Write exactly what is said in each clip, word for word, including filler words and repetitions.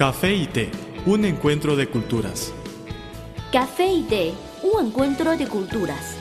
Café y té, un encuentro de culturas. Café y té, un encuentro de culturas.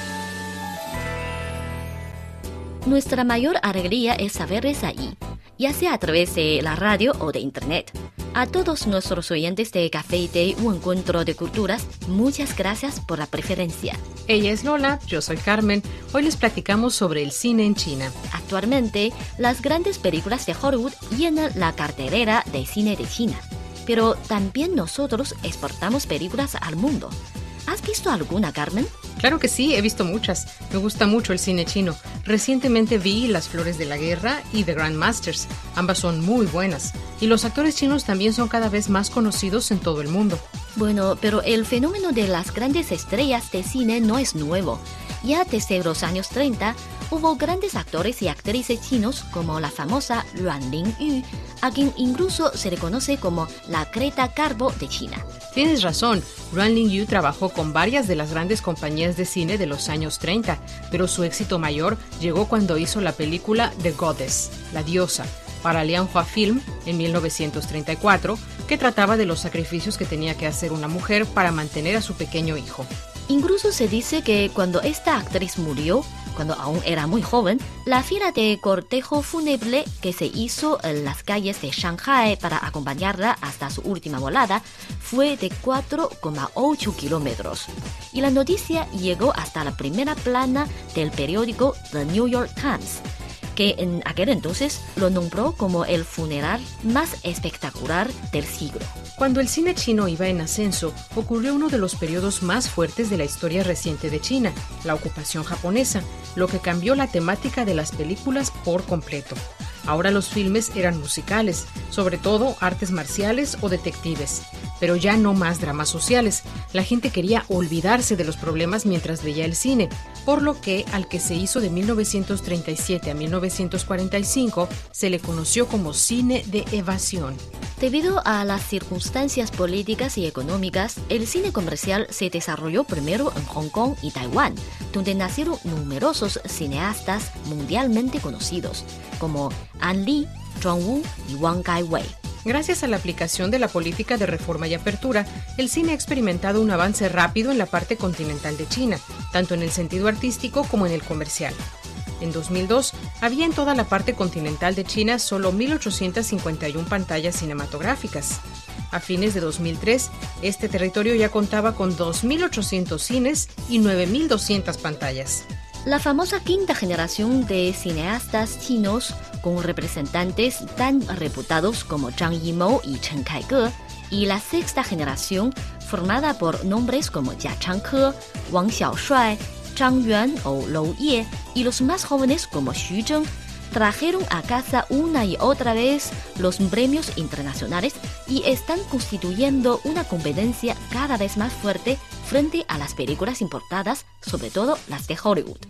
Nuestra mayor alegría es saberles ahí, ya sea a través de la radio o de internet. A todos nuestros oyentes de Café y té, un encuentro de culturas, muchas gracias por la preferencia. Ella es Lola, yo soy Carmen. Hoy les platicamos sobre el cine en China. Actualmente, las grandes películas de Hollywood llenan la cartelera de cine de China. Pero también nosotros exportamos películas al mundo. ¿Has visto alguna, Carmen? Claro que sí, he visto muchas. Me gusta mucho el cine chino. Recientemente vi Las Flores de la Guerra y The Grandmasters. Ambas son muy buenas. Y los actores chinos también son cada vez más conocidos en todo el mundo. Bueno, pero el fenómeno de las grandes estrellas de cine no es nuevo. Ya desde los años treinta, hubo grandes actores y actrices chinos como la famosa Ruan Lingyu, a quien incluso se le conoce como la Greta Garbo de China. Tienes razón, Ruan Lingyu trabajó con varias de las grandes compañías de cine de los años treinta, pero su éxito mayor llegó cuando hizo la película The Goddess, La Diosa, para Lianhua Film en mil novecientos treinta y cuatro, que trataba de los sacrificios que tenía que hacer una mujer para mantener a su pequeño hijo. Incluso se dice que cuando esta actriz murió, cuando aún era muy joven, la fila de cortejo fúnebre que se hizo en las calles de Shanghai para acompañarla hasta su última volada fue de cuatro coma ocho kilómetros. Y la noticia llegó hasta la primera plana del periódico The New York Times, que en aquel entonces lo nombró como el funeral más espectacular del siglo. Cuando el cine chino iba en ascenso, ocurrió uno de los periodos más fuertes de la historia reciente de China, la ocupación japonesa, lo que cambió la temática de las películas por completo. Ahora los filmes eran musicales, sobre todo artes marciales o detectives, pero ya no más dramas sociales. La gente quería olvidarse de los problemas mientras veía el cine, por lo que al que se hizo de mil novecientos treinta y siete a mil novecientos cuarenta y cinco se le conoció como cine de evasión. Debido a las circunstancias políticas y económicas, el cine comercial se desarrolló primero en Hong Kong y Taiwán, donde nacieron numerosos cineastas mundialmente conocidos, como Ang Lee, John Woo y Wong Kar-wai. Gracias a la aplicación de la política de reforma y apertura, el cine ha experimentado un avance rápido en la parte continental de China, tanto en el sentido artístico como en el comercial. En dos mil dos, había en toda la parte continental de China solo mil ochocientas cincuenta y una pantallas cinematográficas. A fines de dos mil tres, este territorio ya contaba con dos mil ochocientos cines y nueve mil doscientas pantallas. La famosa quinta generación de cineastas chinos, con representantes tan reputados como Zhang Yimou y Chen Kaige, y la sexta generación, formada por nombres como Jia Changke, Wang Xiaoshuai, Zhang Yuan o Lou Ye, y los más jóvenes como Xu Zheng, trajeron a casa una y otra vez los premios internacionales y están constituyendo una competencia cada vez más fuerte frente a las películas importadas, sobre todo las de Hollywood.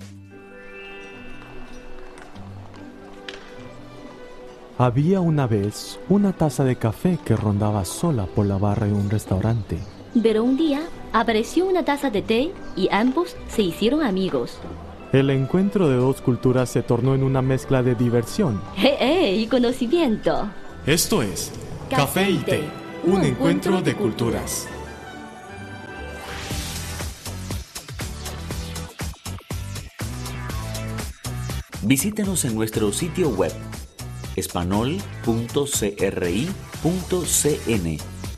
Había una vez una taza de café que rondaba sola por la barra de un restaurante. Pero un día apareció una taza de té y ambos se hicieron amigos. El encuentro de dos culturas se tornó en una mezcla de diversión ¡Eh, eh! Y conocimiento. Esto es Café y té, un encuentro de culturas. Visítenos en nuestro sitio web espanol punto cri punto cn.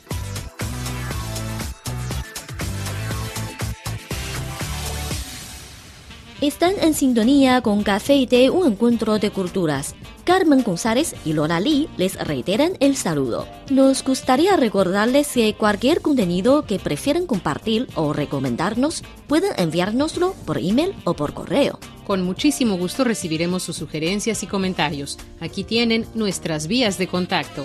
Están en sintonía con Café y té, un encuentro de culturas. Carmen González y Lola Lee les reiteran el saludo. Nos gustaría recordarles que cualquier contenido que prefieran compartir o recomendarnos, pueden enviárnoslo por email o por correo. Con muchísimo gusto recibiremos sus sugerencias y comentarios. Aquí tienen nuestras vías de contacto.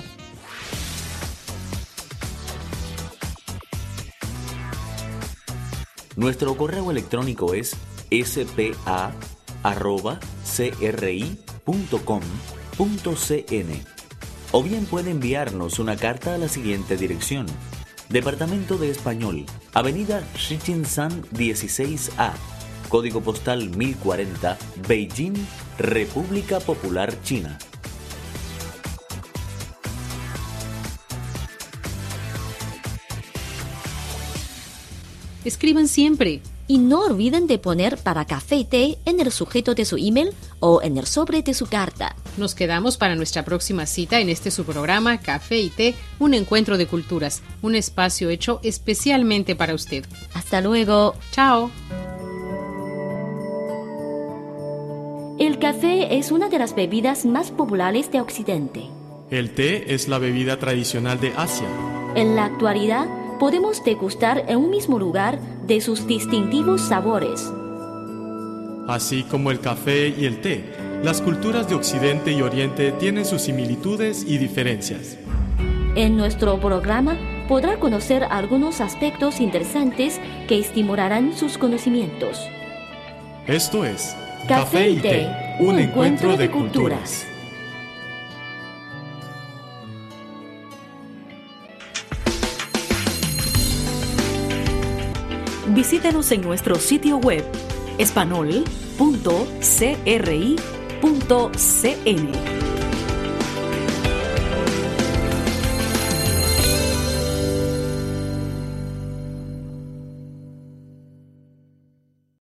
Nuestro correo electrónico es s p a arroba c r i punto com punto c n o bien puede enviarnos una carta a la siguiente dirección: Departamento de Español, Avenida Shichinshan dieciséis A, Código Postal mil cuarenta, Beijing, República Popular China. Escriban siempre. Y no olviden de poner para café y té en el sujeto de su email o en el sobre de su carta. Nos quedamos para nuestra próxima cita en este su programa Café y Té, un encuentro de culturas, un espacio hecho especialmente para usted. Hasta luego. Chao. El café es una de las bebidas más populares de Occidente. El té es la bebida tradicional de Asia. En la actualidad, podemos degustar en un mismo lugar de sus distintivos sabores. Así como el café y el té, las culturas de Occidente y Oriente tienen sus similitudes y diferencias. En nuestro programa podrá conocer algunos aspectos interesantes que estimularán sus conocimientos. Esto es Café y Té, un encuentro de culturas. Visítenos en nuestro sitio web espanol punto c r i punto c n.